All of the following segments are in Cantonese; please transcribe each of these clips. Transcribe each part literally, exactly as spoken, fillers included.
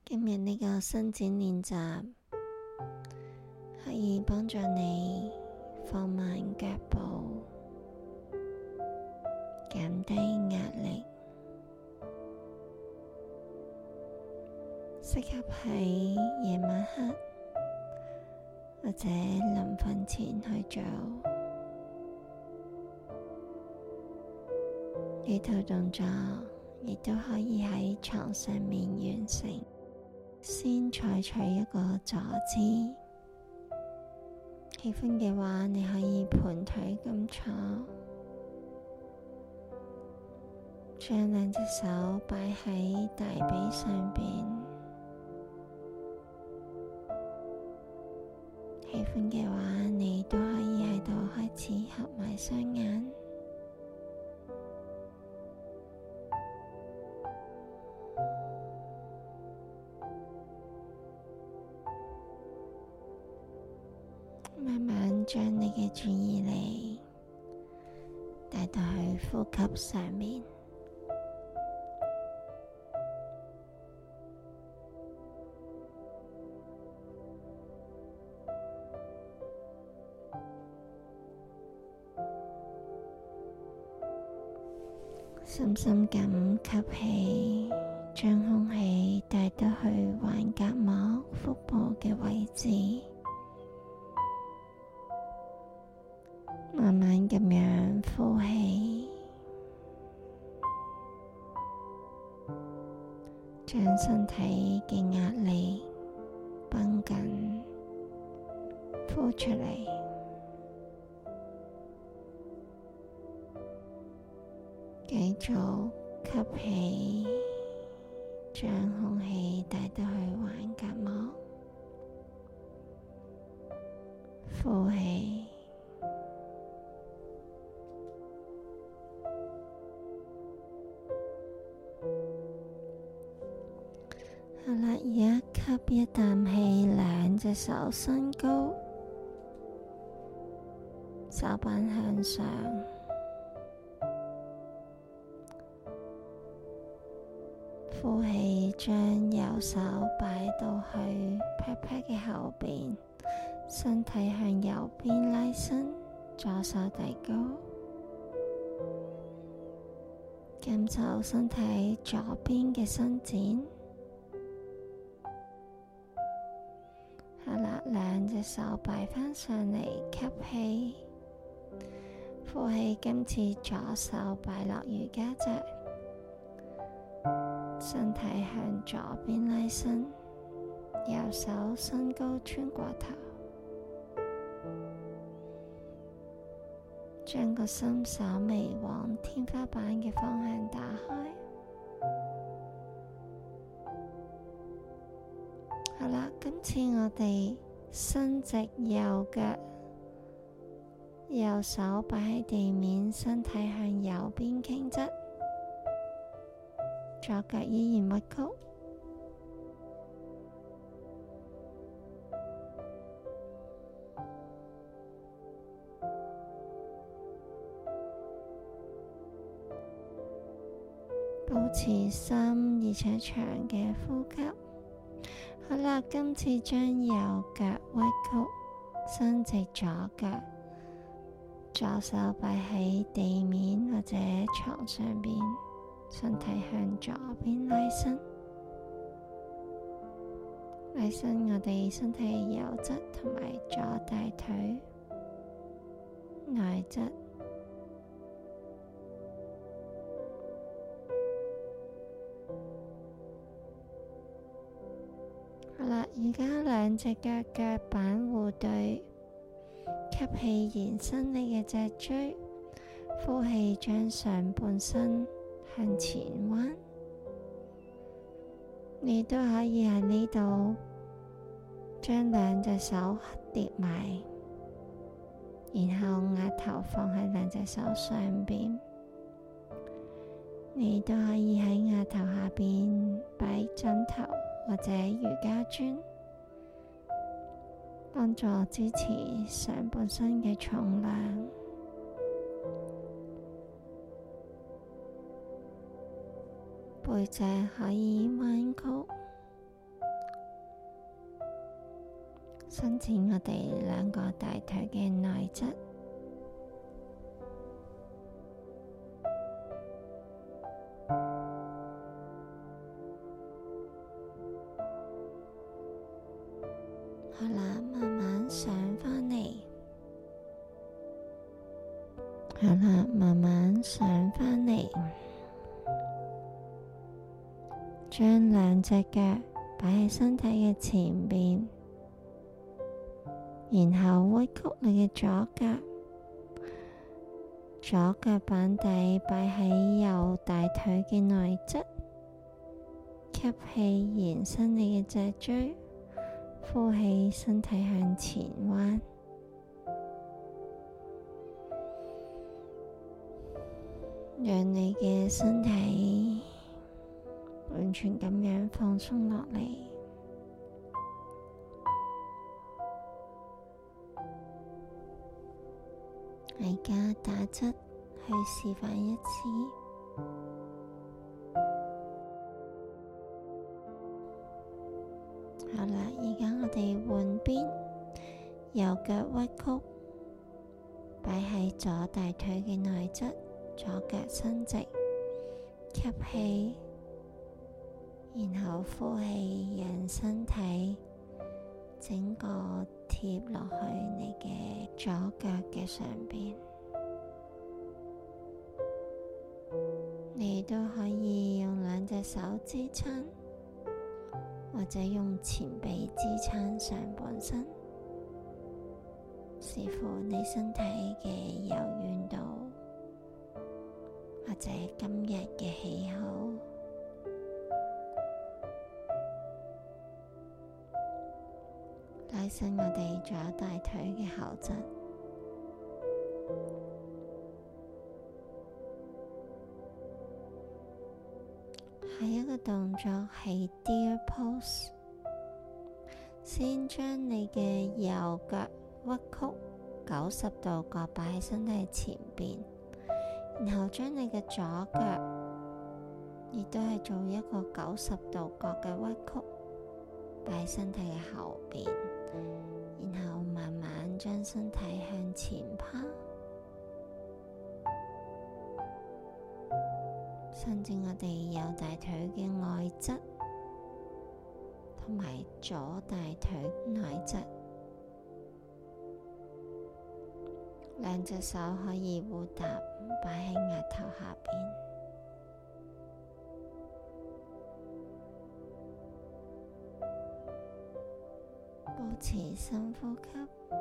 今日呢個伸展練習可以幫助你放慢腳步，減低壓力，適合喺夜晚黑或者臨瞓前去做。呢套動作亦都可以喺床上面完成。先採取一個坐姿，喜歡嘅話你可以盤腿咁坐，將兩隻手擺喺大髀上邊。喜歡嘅話你都可以喺度開始合埋雙眼。慢慢將你嘅注意力帶到去呼吸上面，深深咁吸氣，將空氣帶到去橫膈膜腹部嘅位置。慢慢咁樣呼氣，將身體嘅壓力繃緊呼出嚟，繼續吸氣，將空氣帶到去橫膈膜，呼氣。好啦，而家吸一啖氣，兩隻手伸高，手板向上，呼氣，將右手擺到去pat pat嘅後邊，身體向右邊拉伸，左手遞高，感受身體左邊嘅伸展。好啦，兩隻手擺返上嚟，吸氣，呼氣。今次左手擺落瑜伽席，身體向左邊拉伸，右手伸高穿過頭，將個心稍微往天花板嘅方向打開。好啦，今次我哋伸直右腳，右手擺喺地面，身體向右邊傾側，左腳依然屈曲。保持深而且長嘅呼吸。好啦，今次將右腳屈曲，伸直左腳，左手擺喺地面或者床上邊，身體向左邊拉伸，拉伸我哋身體嘅右側同埋左大腿內側。好啦，而家兩隻腳腳板互對，吸氣延伸你嘅脊椎，呼氣將上半身向前彎。你都可以喺呢度將兩隻手疊埋，然後額頭放喺兩隻手上邊。你都可以喺額頭下邊擺枕頭或者瑜伽磚，幫助支持上半身嘅重量。背脊可以彎曲， 伸展我哋兩個大腿嘅內側。好啦，慢慢上返嚟。好啦，慢慢上返嚟。將兩隻腳擺喺身體嘅前邊，然後屈曲你嘅左腳，左腳板底擺喺右大腿嘅內側，吸氣延伸你嘅脊椎，呼氣身體向前彎，讓你嘅身體完全咁樣放鬆落嚟。而家打側去示範一次。好啦，而家我哋換邊，右腳屈曲，擺喺左大腿嘅內側，左腳伸直，吸氣。然後呼氣，讓身體整個貼落去你嘅左腳嘅上邊。你都可以用兩隻手支撐，或者用前臂支撐上半身，視乎你身體嘅柔軟度，或者今日嘅喜好。拉伸我哋左大腿嘅後側。下一個動作係 Deer Pose， 先將你嘅右腳屈曲九十度角擺喺身體前邊，然後將你嘅左腳亦都係做一個九十度角嘅屈曲，擺喺身體嘅後邊。然後慢慢將身體向前趴，伸展我哋右大腿嘅外側，同埋左大腿內側。兩隻手可以互搭，擺喺額頭下邊。保持深呼吸。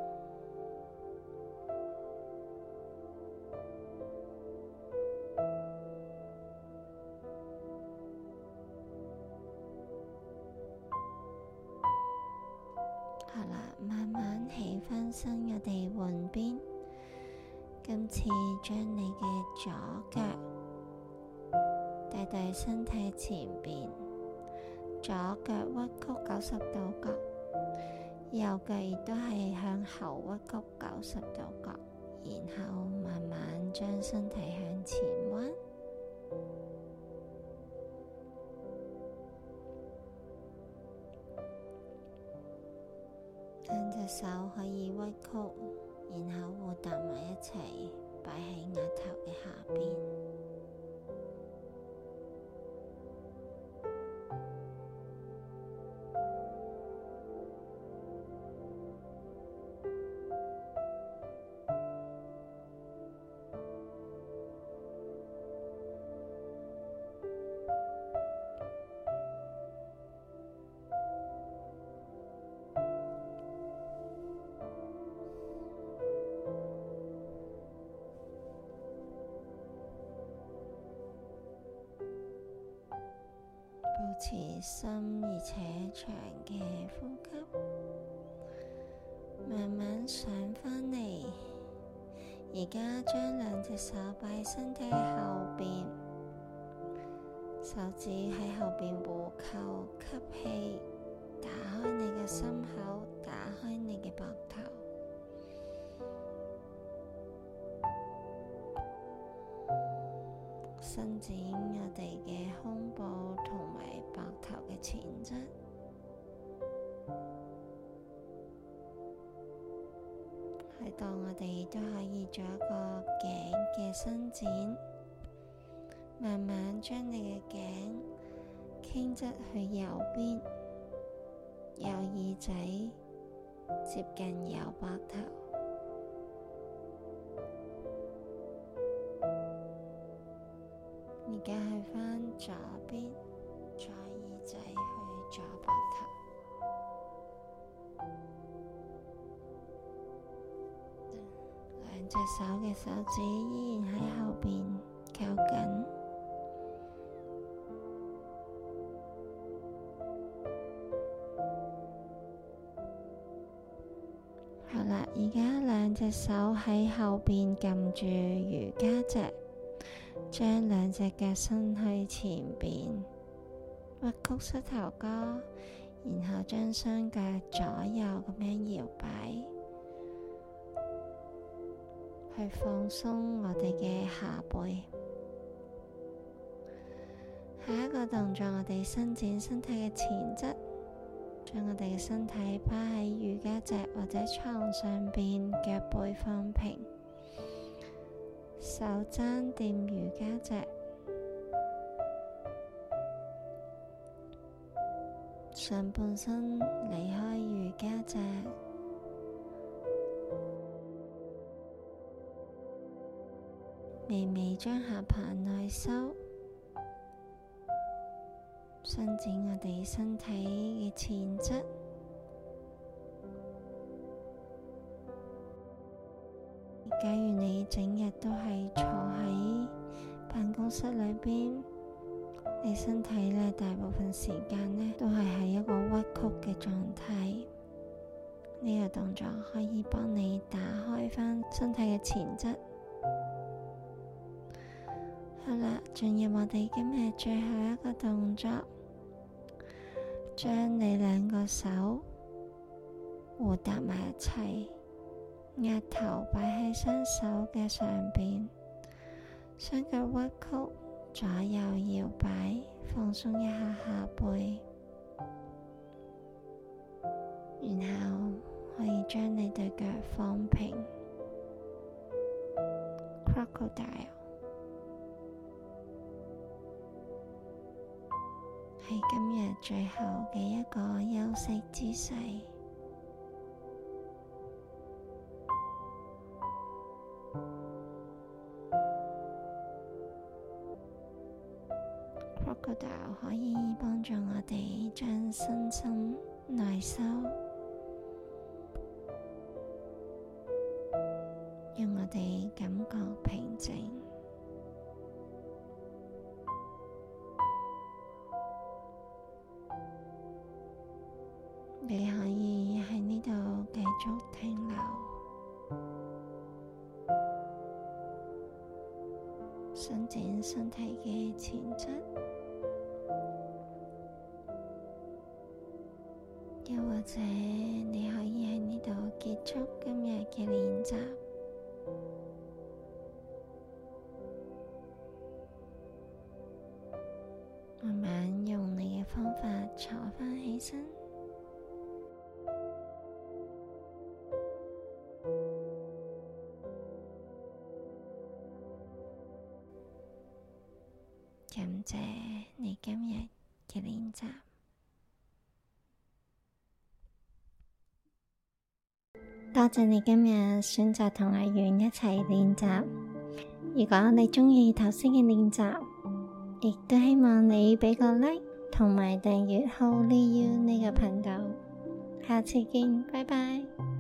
好啦，慢慢起返身，我哋換邊。今次將你嘅左腳帶到身體前邊，左腳屈曲九十度角。右腳亦都係向後屈曲九十度角，然後慢慢將身體向前彎。兩隻手可以屈曲，然後互搭埋一齊，擺喺額頭嘅下邊。保持深而且長嘅呼吸，慢慢上返嚟。而家將兩隻手擺喺身體後邊，手指喺後邊互扣，吸氣，打開你嘅心口，打開你嘅膊頭。伸展我哋嘅胸部同埋膊頭嘅前側， 喺度我哋都可以做一個頸嘅伸展，慢慢將你嘅頸傾側去右邊，右耳仔接近右膊頭。而家去返左邊，左耳仔去左膊頭。兩隻手嘅手指依然喺後邊扣緊。好啦，而家兩隻手喺後邊撳住瑜伽席，將兩隻腳伸去前邊，屈曲膝頭哥，然後將雙腳左右咁樣搖擺，去放鬆我哋嘅下背。下一個動作，我哋伸展身體嘅前側，將我哋嘅身體趴喺瑜伽席或者床上邊，腳背放平，手踭掂瑜伽席，上半身離開瑜伽席，微微將下巴內收，伸展我哋身體嘅前側。假如你整日都係坐喺辦公室裏邊，你身體咧大部分時間咧都係喺一個屈曲嘅狀態。呢個動作可以幫你打開翻身體嘅前側。好啦，進入我哋今日最後一個動作，將你兩個手互搭埋一齊，額頭擺喺雙手嘅上邊，雙腳屈曲，左右搖擺，放鬆一下下背，然後可以將你對腳放平 Crocodile。係今日最後嘅一個休息姿勢。Crocodile 可以幫助我哋將身心內收，讓我哋感覺平靜。你可以喺呢度繼續停留，伸展身體嘅前側，又或者你可以喺呢度結束今日嘅練習。慢慢用你嘅方法坐返起身。感謝你今日嘅練習。多謝你今日選擇同阿源一齊練習。如果你鍾意頭先嘅練習，亦都希望你俾個 like 同埋訂閱 Holy You 呢個頻道。下次見，拜拜。